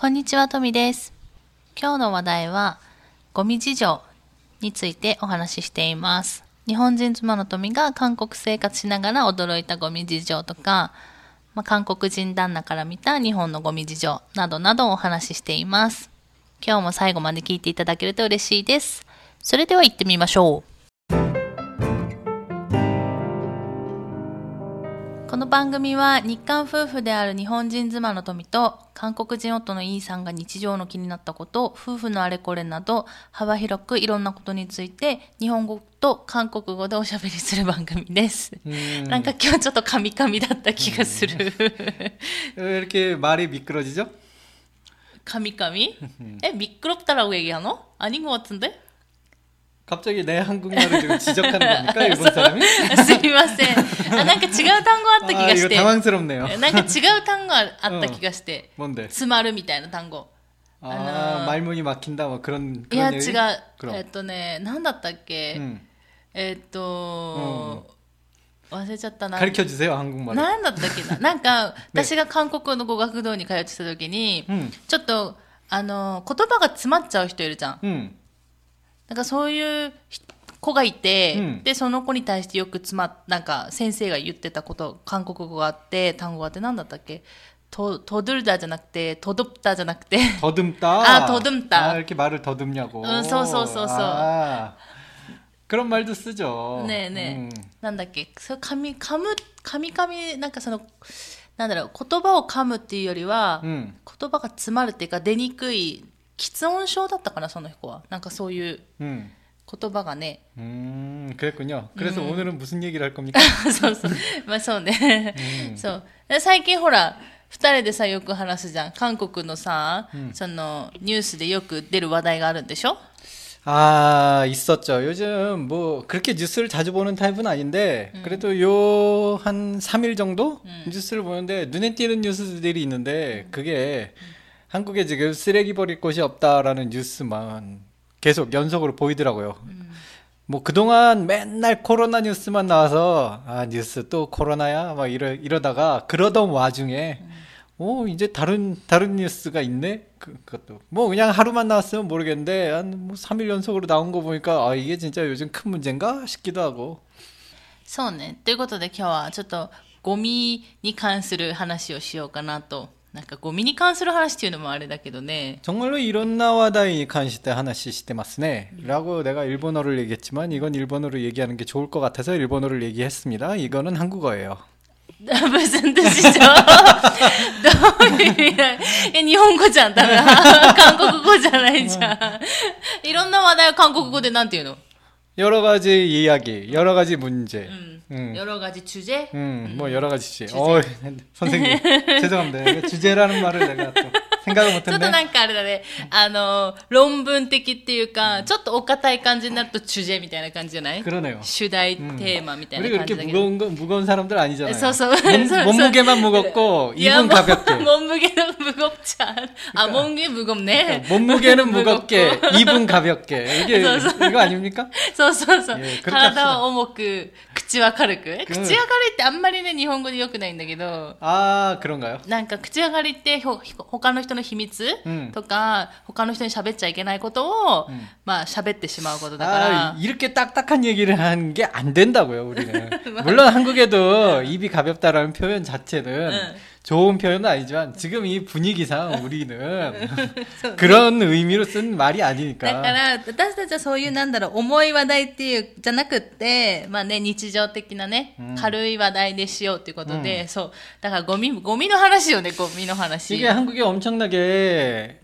こんにちは、トミです。今日の話題はゴミ事情についてお話ししています。日本人妻のトミが韓国生活しながら驚いたゴミ事情とか、韓国人旦那から見た日本のゴミ事情などなどをお話ししています。今日も最後まで聞いていただけると嬉しいです。それでは行ってみましょう。この番組は日韓夫婦である日本人妻の富と韓国人夫のイーさんが日常の気になったこと、夫婦のあれこれなど幅広くいろんなことについて日本語と韓国語でおしゃべりする番組です。なんか今日ちょっとカミカミだった気がする。 왜 이렇게 말이 미끄러지죠? 카미카미? 미끄럽다라고 얘기하노? 아닌 것 같은데? 갑자기 내 한국말을 지금 지적하는 겁니까? 일본 사람이? すみません。なんか違う単語あった気がして。 이거 당황스럽네요. なんか違う単語あった気がして。 뭔데? 詰まるみたいな単語。 말문이 막힌다 뭐 그런 いや違う。 얘기? なんだったっけ？ 忘れちゃったな。 가르쳐주세요, 한국말. なんだったっけな。なんか私が韓国の語学堂に通ってた時に、ちょっと言葉が詰まっちゃう人いるじゃん。なんかそういう子がいて、でその子に対してよくなんか先生が言ってたこと韓国語があって単語があって何だったっけ더듬다じゃなくて더듬다じゃなくて 더듬다 더듬다 이렇게 말을 더듬냐고 そうそうそうそう 그런 말도 쓰죠 ねえねえなんだっけそれ噛みなんかそのなんだろう言葉を噛むっていうよりは、言葉が詰まるっていうか出にくい喫音症だったかなその子はなんかそういう言葉がね 그랬군요. 그래서 오늘은 무슨 얘기를 할 겁니까? そうそうまあそうねそう最近ほら二人でさよく話すじゃん韓国のさ、そのニュースでよく出る話題があるんでしょ? 있었죠. 요즘 뭐 그렇게 뉴스를 자주 보는 타입은 아닌데 그래도 요 한 3일 정도 뉴스를 보는데 눈에 띄는 뉴스들이 있는데 그게 한국에 지금 쓰레기 버릴 곳이 없다라는 뉴스만 계속 연속으로 보이더라고요. 뭐 그동안 맨날 코로나 뉴스만 나와서 뉴스 또 코로나야 막 이러다가 그러던 와중에 이제 다른 뉴스가 있네. 그것도 뭐 그냥 하루만 나왔으면 모르겠는데 한 뭐 3일 연속으로 나온 거 보니까 이게 진짜 요즘 큰 문제인가 싶기도 하고. そうね。ということで今日はちょっとゴミに関する話をしようかなと。なんかゴミに関する話っていうのもあれだけどね. 정말로 이런 나와다이 관시대 하나씩 시대마스네. 라고 내가 일본어를 얘기했지만 이건 일본어로 얘기하는 게 좋을 것 같아서 일본어를 얘기했습니다. 이거는 한국어예요. 무슨 뜻이죠? 日本語じゃん、ダメだ。韓国語じゃないじゃん。いろんな話題を韓国語でなんて言うの? 여러 가지 이야기, 여러 가지 문제. 여러 가지 주제? 뭐 여러 가지 주제. 선생님 죄송합니다. 주제라는 말을 내가 또 생각을 못했네. ちょっとなんかあれだね。論文的っていうか、ちょっとお堅い感じになると主제みたいな感じじゃない? 그러네요. 主題テーマみたいな感じだけど. 우리 그렇게 무거운 사람들 아니잖아요. そうそう. 몸무게만 무겁고 입은 가볍게. 몸무게는 무겁지 않아. 몸무게 무겁네. 몸무게는 무겁게, 입은 가볍게. 이거 아닙니까? そうそうそう。体は重く、口は軽く。口は軽いってあんまりね、日本語で良くないんだけど。 그런가요? なんか口は軽いって他の人の秘密とか、他の人に喋っちゃいけないことを、まあ喋ってしまうことだから。 이렇게 딱딱한 얘기를 하는 게 안 된다고요, 우리는. 물론 한국에도 입이 가볍다라는 표현 자체는 좋은 표현은 아니지만 지금 이 분위기상 우리는 그런 의미로 쓴 말이 아니니까. だから私たちはそういうなんだろう重い話題っていうじゃなくってまあね日常的なね軽い話題でしようっていうことでそうだからゴミの話よねゴミの話. 이게 한국에 엄청나게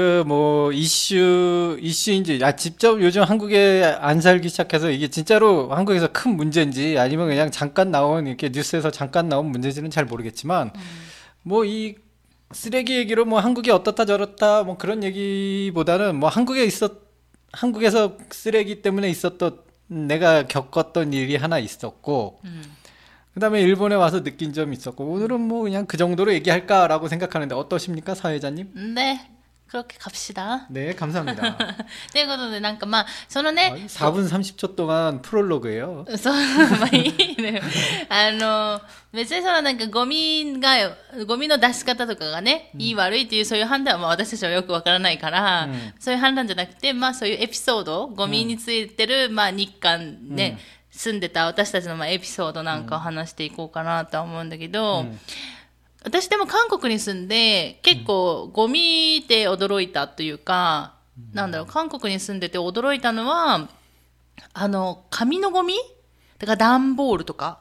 이슈인지, 직접 요즘 한국에 안 살기 시작해서 이게 진짜로 한국에서 큰 문제인지 아니면 그냥 잠깐 나온, 이렇게 뉴스에서 잠깐 나온 문제인지는 잘 모르겠지만, 이 쓰레기 얘기로 한국이 어떻다 저렇다, 그런 얘기보다는 한국에서 쓰레기 때문에 있었던, 내가 겪었던 일이 하나 있었고, 그 다음에 일본에 와서 느낀 점이 있었고, 오늘은 그냥 그 정도로 얘기할까라고 생각하는데 어떠십니까, 사회자님? 네. 그렇게 갑시다. 네, 감사합니다. ということで、なんかまあ、そのね、 4분 30초 동안 프롤로그예요. そう、まあいいね。別にそのなんかゴミの出し方とかがね、いい悪いっていうそういう判断はまあ私たちはよくわからないから、そういう判断じゃなくて、まあそういうエピソード、ゴミについてる、まあ日韓ね、住んでた私たちのまあエピソードなんかを話していこうかなとは思うんだけど、私でも韓国に住んで結構ゴミで驚いたというか、なんだろう、韓国に住んでて驚いたのは、紙のゴミだから段ボールとか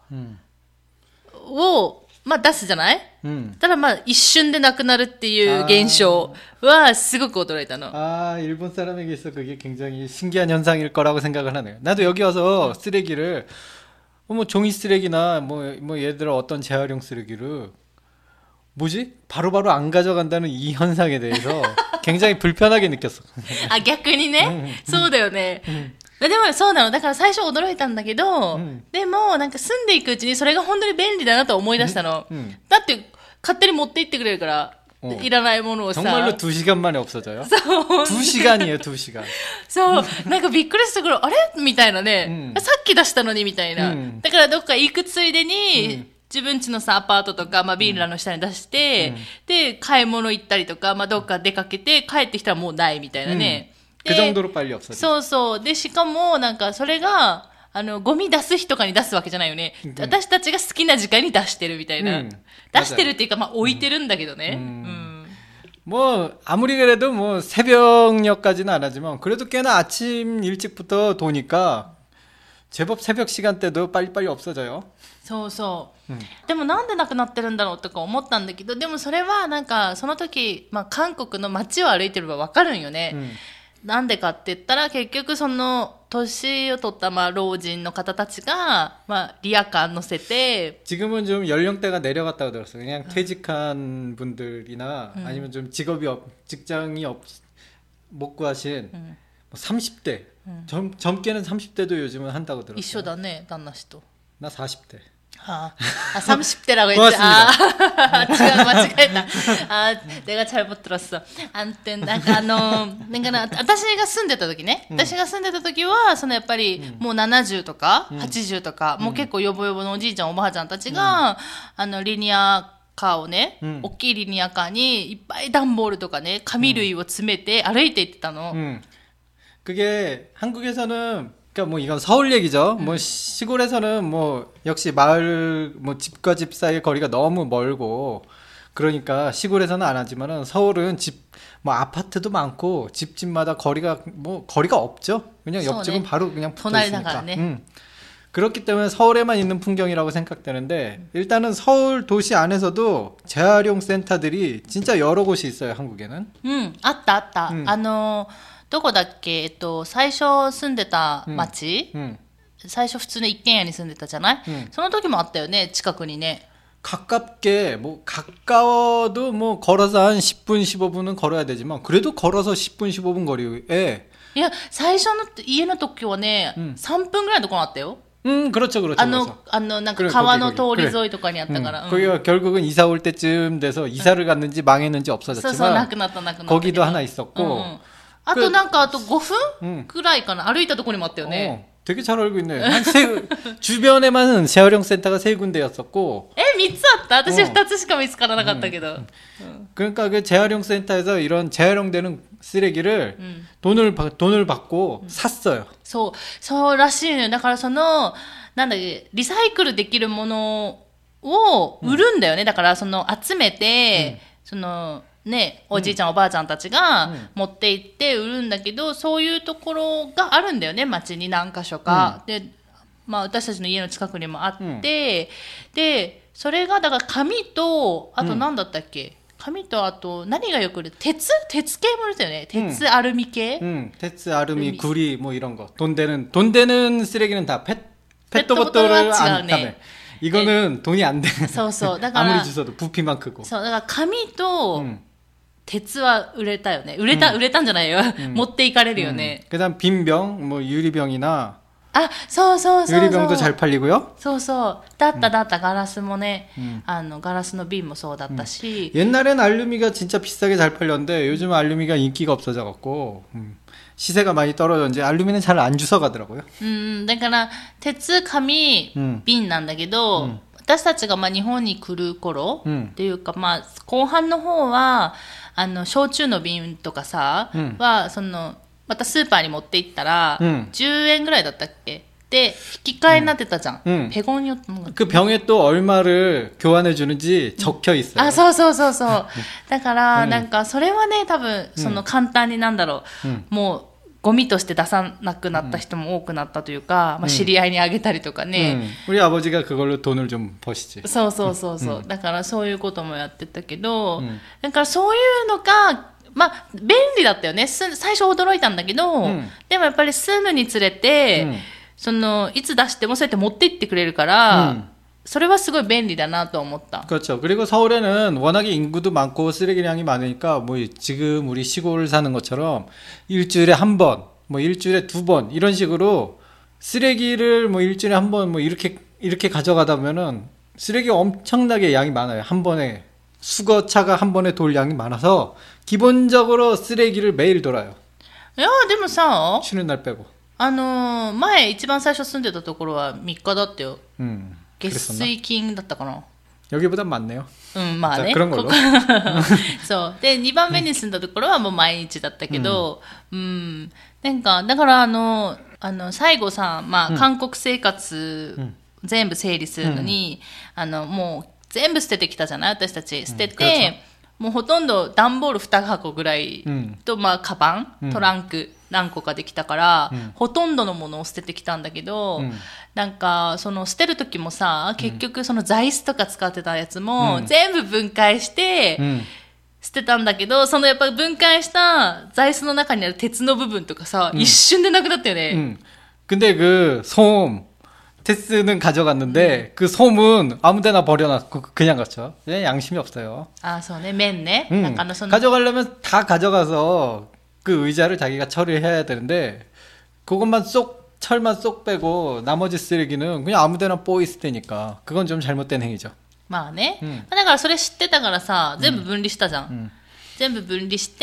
を、まあ出すじゃない、ただまあ一瞬でなくなるっていう現象はすごく驚いたの。 일본 사람에게 있어 그게 굉장히 신기한 현상일 거라고 생각을 하네요. 나도 여기 와서 쓰레기를 뭐 종이 쓰레기나 뭐 예를 들어 어떤 재활용 쓰레기를 뭐지? 바로바로 안 가져간다는 이 현상에 대해서 굉장히 불편하게 느꼈어. 逆にね、そうだよね。でもそうなの。だから最初驚いたんだけど、でもなんか住んでいくうちにそれが本当に便利だなと思い出したの。だって勝手に持って行ってくれるから、いらないものをさ。 정말로 2시간 만에 없어져요? そう。2시간이에요, 2시간. そう。なんかびっくりしたから、あれみたいなね、さっき出したのにみたいな。だからどっか行くついでに、自分家のさ、アパートとか、まあ、ビーラの下に出して、で、買い物行ったりとか、まあ、どっか出かけて、帰ってきたらもうないみたいなね。 그 정도로 빨리 없어져. そうそう。で、しかも、なんか、それが、ゴミ出す日とかに出すわけじゃないよね。私たちが好きな時間に出してるみたいな。出してるっていうか、まあ、置いてるんだけどね。 뭐 아무리 그래도 뭐 새벽녘까지는 안 하지만 그래도 꽤나 아침 일찍부터 도니까 제법 새벽 시간대도 빨리빨리 없어져요. そうそう。でもなんでなくなってるんだろうとか思ったんだけど、でもそれはなんかその時、まあ韓国の街を歩いてればわかるんよね。なんでかって言ったら結局その年を取ったまあ老人の方たちがまあリヤカー乗せて 지금은 좀 연령대가 내려갔다고 들었어요. 그냥 퇴직한 분들이나 아니면 좀 직장이 못 구하신 뭐 30대 젊게는 30대도 요즘은 한다고 들었어요. 一緒だね、旦那氏と。 나 40대. 30대라고 했지. 지금 맞추겠다. 내가 잘못 들었어. 아무튼,私が住んでた時ね。私が住んでた時は、やっぱり、もう70とか、80とか、もう結構ヨボヨボのおじいちゃん、おばあちゃんたちが、リニアカーをね、大きいリニアカーにいっぱい段ボールとかね、紙類を詰めて歩いて行ってたの。 그게 한국에서는 그러니까 뭐 이건 서울 얘기죠. 뭐 시골에서는 뭐 역시 마을 뭐 집과 집 사이의 거리가 너무 멀고 그러니까 시골에서는 안 하지만은 서울은 집 뭐 아파트도 많고 집집마다 거리가 없죠. 그냥 옆집은 바로 그냥 붙어 있으니까. 그렇기 때문에 서울에만 있는 풍경이라고 생각되는데 일단은 서울 도시 안에서도 재활용 센터들이 진짜 여러 곳이 있어요. 한국에는. あったあった。どこだっけ最初住んでた町、最初普通の一軒家に住んでたじゃない、その時もあったよね、近くにね。 가깝게 뭐 가까워도 뭐 걸어서 한 10분 15분은 걸어야 되지만 그래도 걸어서 10분 15분 거리에 いや、最初の家の時はね、3分ぐらいのところあったよ。 그렇죠, 그렇죠. なんか川の通り沿いとかにあったから。 거기가 결국은 이사 올 때쯤 돼서 이사를 갔는지 망했는지 없어졌지만 そうそう、なくなった。 거기도 하나 있었고 あとなんかあと5分くらいかな、歩いたところにもあったよね。 되게 잘 알고 있네. 주변에만 재활용 센터가 3군데였었고. 3つあった? 私2つしか見つからなかったけど. 그러니까 그 재활용 센터에서 이런 재활용되는 쓰레기를 돈을 받고 샀어요. そうらしいのよ。だからなんだっけ、リサイクルできるものを売るんだよね。だから集めて、ね、おじいちゃん、おばあちゃんたちが持って行って売るんだけど、そういうところがあるんだよね、街に何か所か。で、まあ私たちの家の近くにもあって、で、それがだから紙と、あと何だったっけ、紙とあと何がよく売る鉄系も売るんだよね。鉄アルミ系。 鉄アルミ구리 뭐 이런 거. 돈 되는 쓰레기는 다 페트보트를 안 담에. 이거는 돈이 안 돼. 아무리 주워도 부피만 크고. そう、だから紙と、鉄は売れたよね。売れたんじゃないよ。持っていかれるよね。 그다음 빈병, 뭐 유리병이나 あ、そうそうそうそう。 유리병도 잘 팔리고요. そうそう。だったガラスもね、ガラスの瓶もそうだったし。 옛날엔 알루미가 진짜 비싸게 잘 팔렸는데 요즘은 알루미가 인기가 없어져 갖고 시세가 많이 떨어졌는지 알루미는 잘 안 주워가더라고요. だから、鉄、紙、瓶なんだけど、私たちがまあ日本に来る頃、っていうかまあ後半の方は、焼酎の瓶とかさ、は、またスーパーに持って行ったら、10円ぐらいだったっけで、引き換えになってたじゃん。ペゴンヨ 그 병에 또 얼마를 교환해 주는지 적혀 있어요. あ、そうそうそうそう。だから、なんか、それはね、多分、簡単になんだろう、もう、ゴミとして出さなくなった人も多くなったというか、まあ、知り合いにあげたりとかね。 우리 아버지가 그걸로 돈을 좀 버시지. そうそうそうそう。だからそういうこともやってたけど、だからそういうのが、まあ、便利だったよね。最初驚いたんだけど、でもやっぱり住むにつれて、いつ出してもそうやって持って行ってくれるから、それはすごい便利だなと思った。 그렇죠. 그리고 서울에는 워낙에 인구도 많고 쓰레기량이 많으니까 뭐 지금 우리 시골 사는 것처럼 일주일에 한 번, 뭐 일주일에 두 번 이런 식으로 쓰레기를 뭐 일주일에 한 번 뭐 이렇게 가져가다 보면은 쓰레기가 엄청나게 양이 많아요. 한 번에 수거차가 한 번에 돌 양이 많아서 기본적으로 쓰레기를 매일 돌아요. いや、でもさ、 쉬는 날 빼고. 前一番最初住んでたところは3日だったよ。 月 그랬었나? 水金だったかな。 여기보단 많네요. まあね。 그런 걸로. そう。で、2番目に住んだところはもう毎日だったけど、なんか、だから最後さ、まあ、韓国生活、全部整理するのに、もう全部捨ててきたじゃない私たち。捨てて、もうほとんど段ボール2箱ぐらいと、まあ、カバン、トランク、何個かできたから、ほとんどのものを捨ててきたんだけど、なんか捨てる時もさ、結局その座椅子とか使ってたやつも、全部分解して、捨てたんだけど、やっぱ分解した座椅子の中にある鉄の部分とかさ、一瞬でなくなったよね。 근데 그 솜, 테스는 가져갔는데 그 솜은 아무데나 버려놨고 그냥 갔죠. 양심이 없어요. 아, そうね、麺ね。 가져가려면 다 가져가서 그 의자를 자기가 처리해야 되는데 그것만 철만 쏙 빼고 나머지 쓰레기는 그냥 아무데나 뽀 있을 테니까 그건 좀 잘못된 행위죠. まあね。だからそれ知ってたからさ、全部分離したじゃん。全部分離して、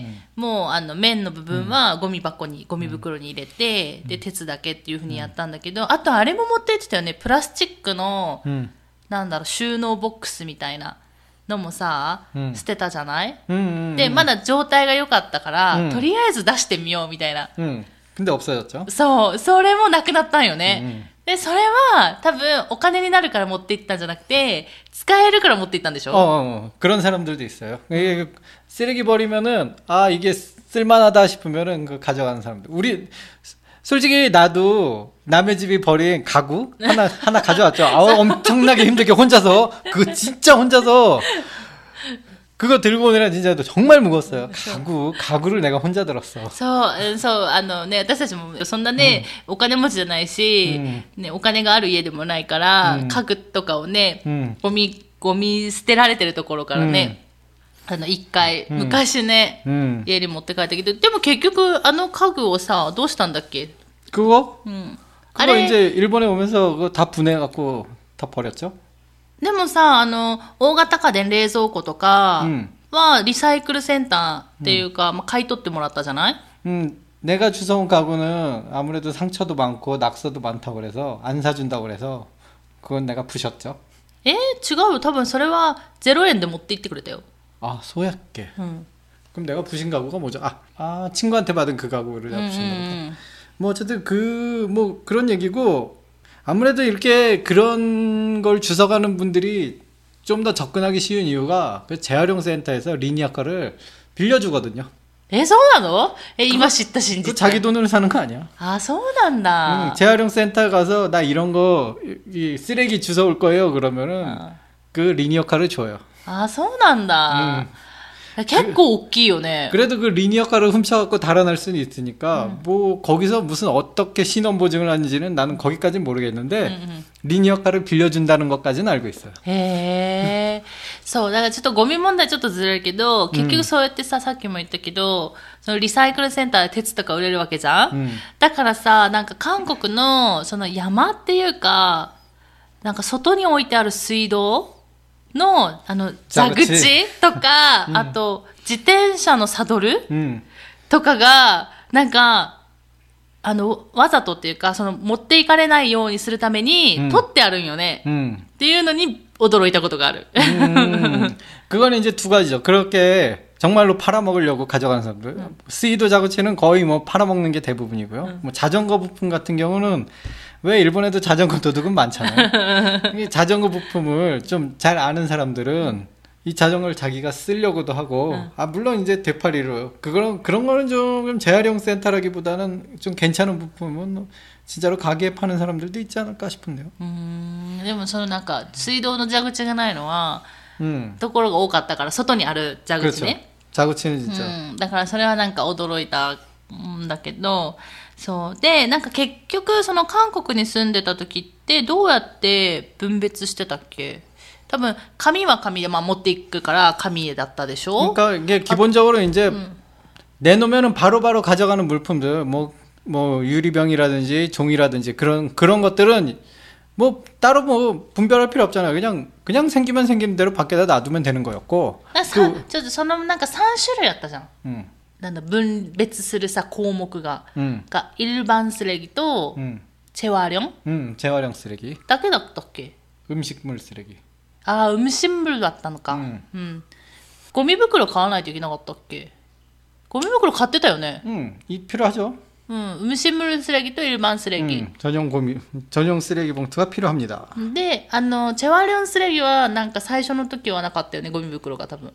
もう麺の部分はゴミ袋に入れて、で、鉄だけっていうふうにやったんだけど、あとあれも持って行ってたよね。プラスチックの、なんだろう、収納ボックスみたいなのもさ、捨てたじゃない？で、まだ状態が良かったから、とりあえず出してみようみたいな。 근데 없어졌죠? そう、それもなくなったんよね。で、それは多分お金になるから持って行ったんじゃなくて、使えるから持って行ったんでしょ? 그런 사람들도 있어요. 이게 쓰레기 버리면은 이게 쓸만하다 싶으면은 그 가져가는 사람들. 솔직히 나도 남의 집이 버린 가구 하나 가져왔죠. 엄청나게 힘들게 혼자서 그거 진짜 혼자서 그거 들고 오느라 진짜 정말 무거웠어요. 가구를 내가 혼자 들었어. そう、ね、私たちもそんなね、お金持ちじゃないし、ね、お金がある家でもないから、家具とかをね、ゴミ捨てられてるところからね、一回、昔ね、家に持って帰ったけど、でも結局家具をさ、どうしたんだっけ? 그거 이제 일본에 오면서 그거 다 분해갖고 다 버렸죠? でもさ、大型家電冷蔵庫とかは、リサイクルセンターっていうか、まあ、買い取ってもらったじゃない？ 내가 주워온 가구는 아무래도 상처도 많고 낙서도 많다고 그래서 안 사준다고 그래서 그건 내가 부셨죠. 違うよ。多分それは0円で持って行ってくれたよ。 아, 소약계. 그럼 내가 부신 가구가 뭐죠? 친구한테 받은 그 가구를 내가 부신 거다. 뭐 어쨌든 뭐 그런 얘기고 아무래도 이렇게 그런 걸 주워가는 분들이 좀 더 접근하기 쉬운 이유가 그 재활용 센터에서 리니아카를 빌려주거든요. そうなの？今知った真実。 그 자기 돈으로 사는 거 아니야? そうなんだ。 재활용 센터 가서 나 이런 거 쓰레기 주워올 거예요. 그러면은 그 리니어카를 줘요. そうなんだ。 結構大きいよね。 그래도 그 리니어카를 훔쳐갖고 달아날 수는 있으니까 뭐 거기서 무슨 어떻게 신원 보증을 하는지는 나는 거기까지는 모르겠는데 리니어카를 빌려준다는 것까지는 알고 있어요. へえ。そう、だからちょっとゴミ問題ちょっとずれるけど、結局そうやってさ、さっきも言ったけど、そのリサイクルセンターで鉄とか売れるわけじゃん、だからさ、なんか韓国のその山っていうか、なんか外に置いてある水道の、蛇口とか、あと、自転車のサドル、とかが、なんか、わざとっていうか、その、持っていかれないようにするために、取ってあるんよね。っていうのに、驚いたことがある。 그거는 이제 두 가지죠. 그렇게 정말로 팔아먹으려고 가져가는 사람들. 스이도 자구치는 거의 뭐 팔아먹는 게 대부분이고요. 뭐 자전거 부품 같은 경우는 왜 일본에도 자전거 도둑은 많잖아요. 이 자전거 부품을 좀 잘 아는 사람들은 이 자전거를 자기가 쓰려고도 하고, 물론 이제 되팔이로. 그런 거는 좀 재활용 센터라기보다는 좀 괜찮은 부품은 진짜로 가게에 파는 사람들도 있지 않을까 싶은데요. でもそのなんか、水道の蛇口がないのは、ところが多かったから、外にある蛇口ね。 蛇口는 진짜. だからそれはなんか驚いたんだけど、そう。で、なんか結局、その韓国に住んでた時って、どうやって分別してたっけ？多分、紙は紙で、まあ持っていくから紙だったでしょ？ 그러니까 이게 기본적으로 이제 내놓으면은 바로바로 가져가는 물품들, 뭐 유리병이라든지 종이라든지 그런 것들은 뭐 따로 뭐 분별할 필요 없잖아요. 그냥 생기면 생기는 대로 밖에다 놔두면 되는 거였고. ちょっとそのなんか3種類あったじゃん。なんだ分別するさ項目が、が일반 쓰레기と재활용? 재활용 쓰레기. だけだったっけ? 음식물 쓰레기. 아, 음식물だったのか。ゴミ袋買わないといけなかったっけ? 고미袋買ってたよね. 필요하죠. 음식물 쓰레기 또 일반 쓰레기. 전용 쓰레기 봉투가 필요합니다. 근데 재활용 쓰레기와 なんか最初の時はなかったよね、ゴミ袋が多分.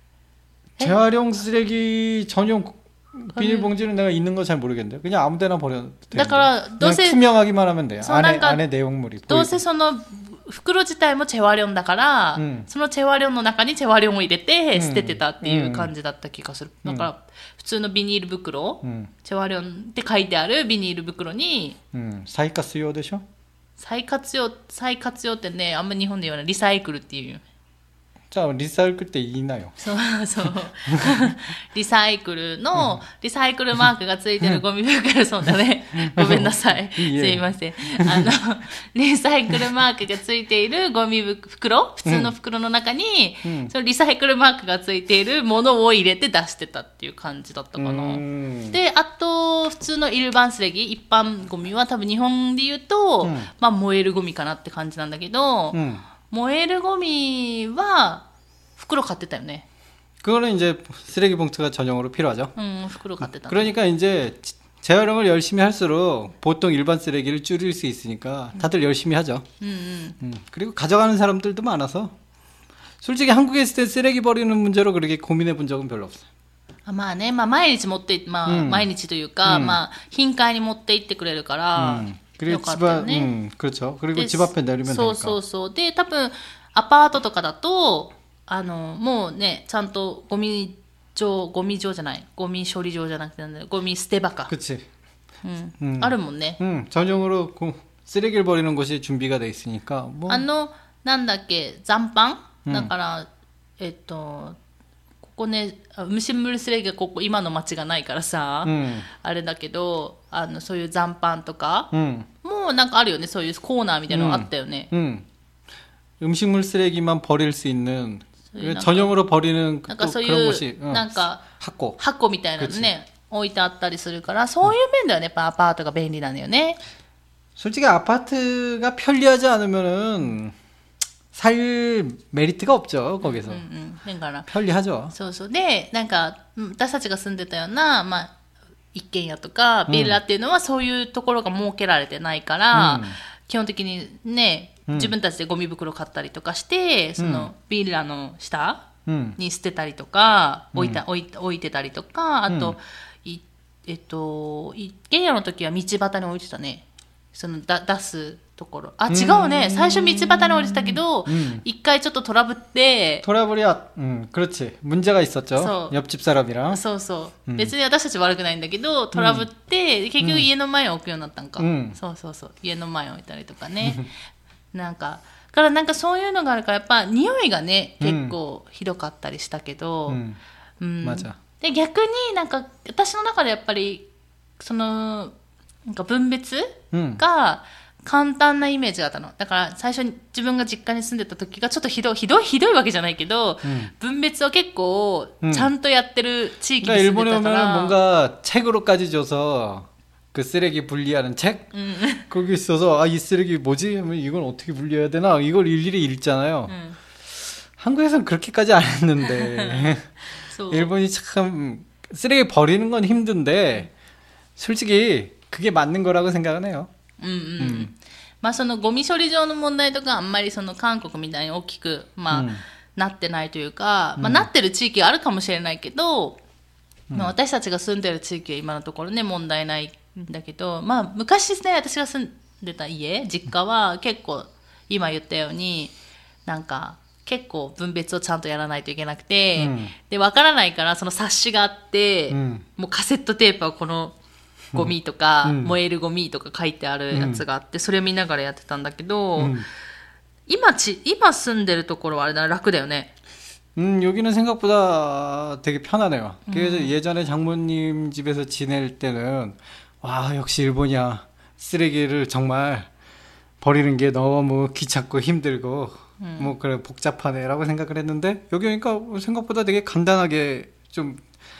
재활용 쓰레기 전용 비닐봉지는 내가 있는 거 잘 모르겠는데 그냥 아무데나 버려도 돼. 그냥 투명하기만 하면 돼요. 안에 내용물이. どうせその袋自体も재활용だから、その재활용の中に재활용を入れて捨ててたっていう感じだった気がする。だから普通のビニール袋、재활용って書いてあるビニール袋に、 再活用でしょ？ 再活用ってね、あんま日本で言わないリサイクルっていう。 じゃあリサイクルって言いなよ。 そうリサイクルのリサイクルマークがついてるゴミ袋、そうだね、ごめんなさい、すいません。リサイクルマークがついているゴミ袋、普通の袋の中に、そのリサイクルマークがついているものを入れて出してたっていう感じだったかな。で、あと普通の일반 쓰레기、一般ゴミは多分日本で言うと、まあ燃えるゴミかなって感じなんだけど、燃えるゴミは袋買ってたよね. 그거는 이제 쓰레기 봉투가 전용으로 필요하죠. 袋買ってた. 그러니까 이제 재활용을 열심히 할수록 보통 일반 쓰레기를 줄일 수 있으니까 다들 열심히 하죠. 그리고 가져가는 사람들도 많아서 솔직히 한국에 있을 때 쓰레기 버리는 문제로 그렇게 고민해 본 적은 별로 없어요. まあね、まあ毎日持って、まあ毎日というか、まあ頻回に持って行ってくれるから。 그리고 집 앞, 그렇죠. 그리고 집 앞에 내리면 되니까. そう。で、多分アパートとかだと、もうね、ちゃんとゴミ場じゃない、ゴミ処理場じゃなくて、ゴミ捨て場か。 그치. あるもんね。 전용으로 쓰레기를 버리는 곳이 준비가 돼 있으니까. 뭐. なんだっけ、残飯、だから、ここね、음식물 쓰레기가ここ今の町がないからさ、あれだけど、そういう残飯とか、もうなんかあるよね、そういうコーナーみたいなのあったよね。 음식물 쓰레기만 버릴 수 있는 전용으로 버리는 그런 곳이 なんか箱みたいなのね、置いてあったりするから、そういう面ではね、やっぱアパートが便利なんだよね。 솔직히 아파트가 편리하지 않으면은 살 메리트가 없죠, 거기서. 편리하죠. そう。で、なんか、私たちが住んでたような、まあ、一軒家とか、ビラっていうのはそういうところが設けられてないから、基本的にね、自分たちでゴミ袋買ったりとかして、その、ビラの下に捨てたりとか、置いてたりとか、あと、一軒家の時は道端に置いてたね。その出すところ。あ、違うね。最初道端に降りてたけど、一回ちょっとトラブって、 トラブルや、그렇지。문제가 있었죠。옆집 사람이랑。 そうそう。別に私たち悪くないんだけど、トラブって、結局家の前を置くようになったんか。そうそうそう。家の前を置いたりとかね。なんか、からなんかそういうのがあるから、やっぱ匂いがね、結構ひどかったりしたけど、で、逆になんか、私の中でやっぱり、その、なんか分別が、簡単なイメージがあったの。だから最初に自分が実家に住んでた時がちょっとひどいわけじゃないけど、分別を結構ちゃんとやってる地域に住んでたから。 일본에 오면 뭔가 책으로까지 줘서 그 쓰레기 분리하는 책? 거기 있어서 아, 이 쓰레기 뭐지? 하면 이건 어떻게 분리해야 되나? 이걸 일일이 읽잖아요. 한국에서는 그렇게까지 안 했는데 일본이 참 쓰레기 버리는 건 힘든데 솔직히 그게 맞는 거라고 생각은 해요. まあそのゴミ処理場の問題とかあんまりその韓国みたいに大きく、まあなってないというか、まあなってる地域があるかもしれないけど、まあ私たちが住んでる地域は今のところね問題ないんだけど、まあ昔ね私が住んでた実家は結構今言ったようになんか結構分別をちゃんとやらないといけなくて、でわからないからその冊子があって、もうカセットテープはこのゴミとか、燃えるゴミとか書いてあるやつがあって、それを見ながらやってたんだけど、今住んでるところはあれだな、楽だよね。 여기는 생각보다 되게 편하네요. 그래서 예전에 장모님 집에서 지낼 때는 와 역시 일본이야. 쓰레기를 정말 버리는 게 너무 귀찮고 힘들고 뭐 그래 복잡하네라고 생각을 했는데 여기 오니까 생각보다 되게 간단하게 좀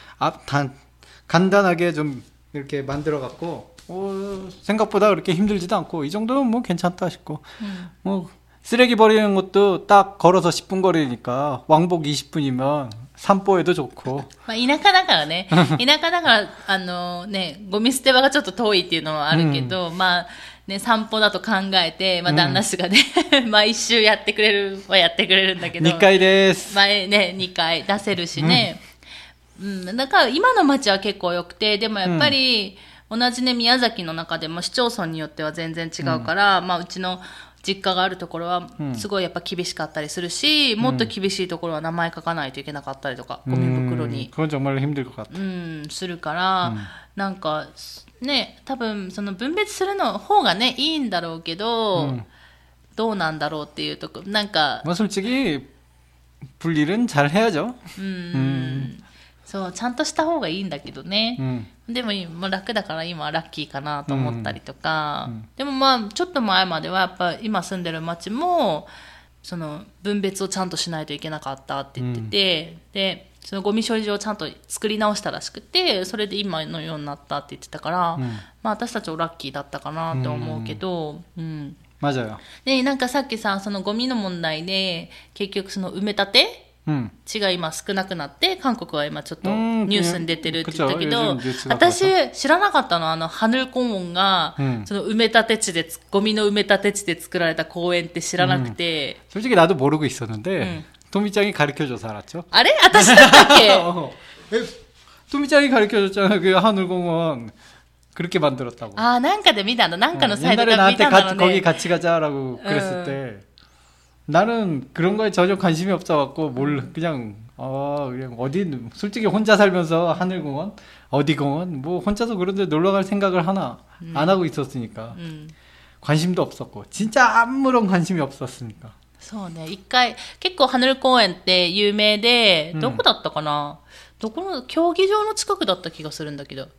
간단하게 좀 이렇게 만들어갖고 생각보다 그렇게 힘들지도 않고 이 정도면 뭐 괜찮다 싶고 뭐 쓰레기 버리는 것도 딱 걸어서 10분 거리니까 왕복 20분이면 산보에도 좋고 まあ田舎だからね田舎だからねゴミ捨て場がちょっと遠いっていうのはあるけど、まあね散歩だと考えて、まあ旦那氏がね毎週やってくれるはやってくれるんだけど 2回です前ね2回出せるしね、だから今の街は結構良くて、でもやっぱり同じね宮崎の中でも市町村によっては全然違うから、まあうちの実家があるところはすごいやっぱ厳しかったりするし、もっと厳しいところは名前書かないといけなかったりとか、ゴミ袋に 그건 정말 힘들 것 같아. するから、なんかね多分その分別するの方がねいいんだろうけど、どうなんだろうっていうとこなんか。 まあ솔직히 분리는 잘 해야죠. そうちゃんとした方がいいんだけどね、でももう楽だから今はラッキーかなと思ったりとか、でもまあちょっと前まではやっぱ今住んでる町もその分別をちゃんとしないといけなかったって言ってて、でそのゴミ処理場をちゃんと作り直したらしくて、それで今のようになったって言ってたから、まあ私たちはラッキーだったかなと思うけど、 맞아요. でなんかさっきさそのゴミの問題で結局その埋め立て地が今少なくなって韓国は今ちょっとニュースに出てるって言ったけど、私知らなかったのハヌルコンウォンがその埋め立て地でゴミの埋め立て地で作られた公園って知らなくて、 솔직히 나도 모르고 있었는데 도미짱이 가르쳐줘서 알았죠. あれ私だったっけ 도미짱이 가르쳐줬잖아. 그 하늘공원 그렇게 만들었다고. 아, なんかで見たの。なんかのサイトで見た 옛날에 나한테 거기 같이 가자라고 그랬을 때 나는 그런 거에 전혀 관심이 없어갖고 그냥 어디 솔직히 혼자 살면서 하늘공원 어디 공원 뭐 혼자서 그런데 놀러갈 생각을 하나 안 하고 있었으니까 관심도 없었고 진짜 아무런 관심이 없었으니까. そうね。一回結構ハヌル公園って有名で、どこだったかな、どこの競技場の近くだった気がするんだけど。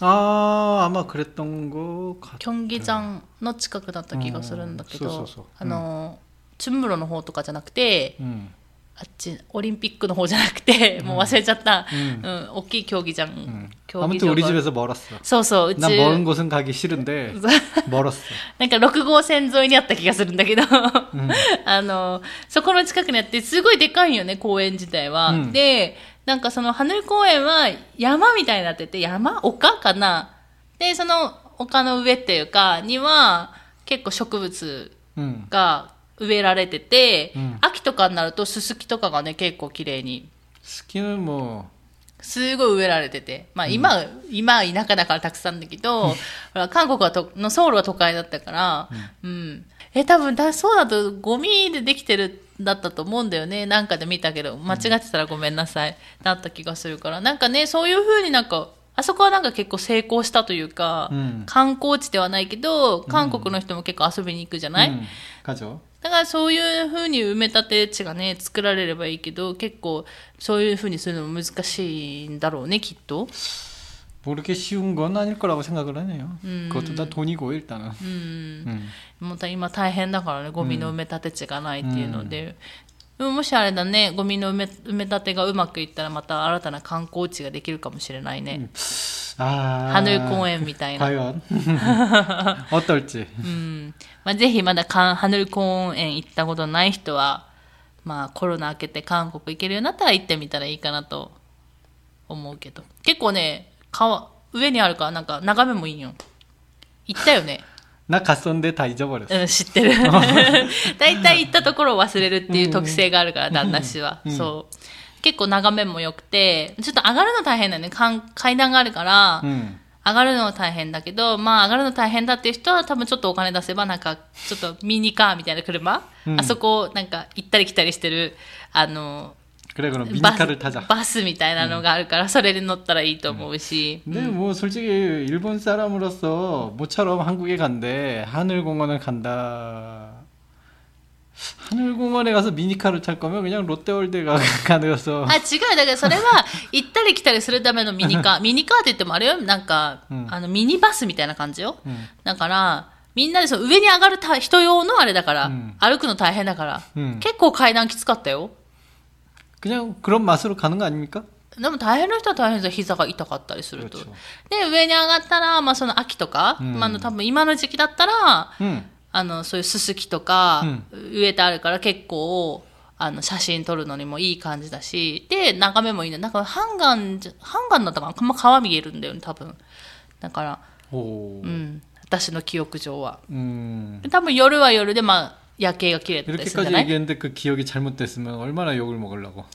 아마 그랬던 거 같아. 경기장の近くだった気がするんだけど、춘무로の方とかじゃなくて、あっちオリンピックの方じゃなくて、もう忘れちゃった、大きい競技場。 아무튼 우리 집에서 멀었어. そうそう、 난 먼 곳은 가기 싫은데 멀었어. なんか6号線沿いにあった気がするんだけど、そこの近くにあってすごいでかいよね公園自体は。で、なんかそのハヌル公園は山みたいになってて、丘かな。で、その丘の上っていうかには結構植物が植えられてて、秋とかになるとススキとかがね結構綺麗に。 スキ는 뭐 すごい植えられてて。まあ今は田舎だからたくさんだけど、ほら韓国のソウルは都会だったから、うん。多分そうだとゴミでできてるだったと思うんだよね。なんかで見たけど、間違ってたらごめんなさい。だった気がするから。なんかね、そういう風になんか、あそこはなんか結構成功したというか、観光地ではないけど、韓国の人も結構遊びに行くじゃない、 가죠。 だからそういう風に埋め立て地がね、作られればいいけど、結構そういう風にするのも難しいんだろうね、きっと。 뭐 그렇게 쉬운 건 아닐 거라고 생각을 하네요. 그것도 다 돈이고 일단은. もう今大変だからね、ゴミの埋め立て地がないっていうので。でももしあれだね、ゴミの埋め立てがうまくいったらまた新たな観光地ができるかもしれないね。하늘公園みたいな。 과연 어떨지. まあ、ぜひまだ하늘公園行ったことない人は、まあコロナ明けて韓国行けるようになったら行ってみたらいいかなと思うけど。結構ね、上にあるからなんか眺めもいいよ。行ったよね。 나 갔었는데 다 잊어버렸어. 知ってる。だいたい行ったところを忘れるっていう特性があるから、旦那氏は。そう。結構眺めも良くて、ちょっと上がるの大変だよね。階段があるから、上がるのは大変だけど、まあ上がるの大変だっていう人は多分ちょっとお金出せばなんか、ちょっとミニカーみたいな車、あそこなんか行ったり来たりしてる、 그래 그럼 미니카를 타자. バスみたいなのがあるから、それで乗ったらいいと思うし。 근데 뭐 솔직히 일본 사람으로서 모처럼 한국에 간대 하늘공원을 간다. 하늘공원에 가서 미니카를 탈 거면 그냥 롯데월드에 가서. あ、違う。だからそれは行ったり来たりするためのミニカー。ミニカーって言ってもあれよ。なんか、ミニバスみたいな感じよ。だから、みんなでその上に上がる人用のあれだから、歩くの大変だから、結構階段きつかったよ。 그냥 그런 맛으로 가는 거 아닙니까? でも大変な人は大変ですよ。膝が痛かったりすると。で、上に上がったら、まあその秋とか、まあ多分今の時期だったら、そういうススキとか、植えてあるから結構、写真撮るのにもいい感じだし、で、眺めもいいね。なんかハンガンだったかな、まあ、川見えるんだよね、多分。だから、私の記憶上は。多分夜は夜で、まあ、夜景が綺麗だったりするんじゃない? 이렇게까지 얘기했는데 그 기억이 잘못됐으면 얼마나 욕을 먹으려고.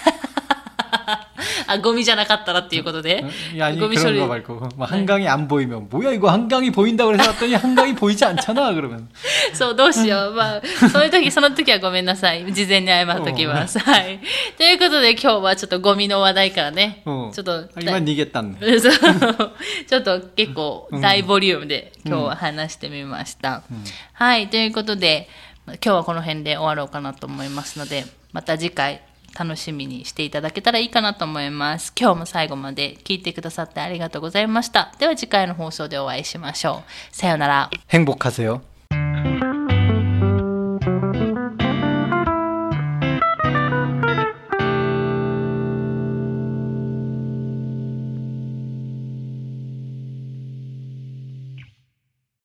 あ、ゴミじゃなかったらっていうことで? 아니 그런 거 말고 막 한강이 안 보이면 뭐야 이거 한강이 보인다고 그래서 왔더니 한강이 보이지 않잖아 그러면. そうどうしよう。まあその時はごめんなさい。事前に謝っときます。はい。ということで今日はちょっとゴミの話題からね。ちょっと今逃げたんで。 ちょっと結構大ボリュームで今日は話してみました。はい。ということで今日はこの辺で終わろうかなと思いますので、また次回楽しみにしていただけたらいいかなと思います。今日も最後まで聞いてくださってありがとうございました。では次回の放送でお会いしましょう。さようなら。 행복하세요.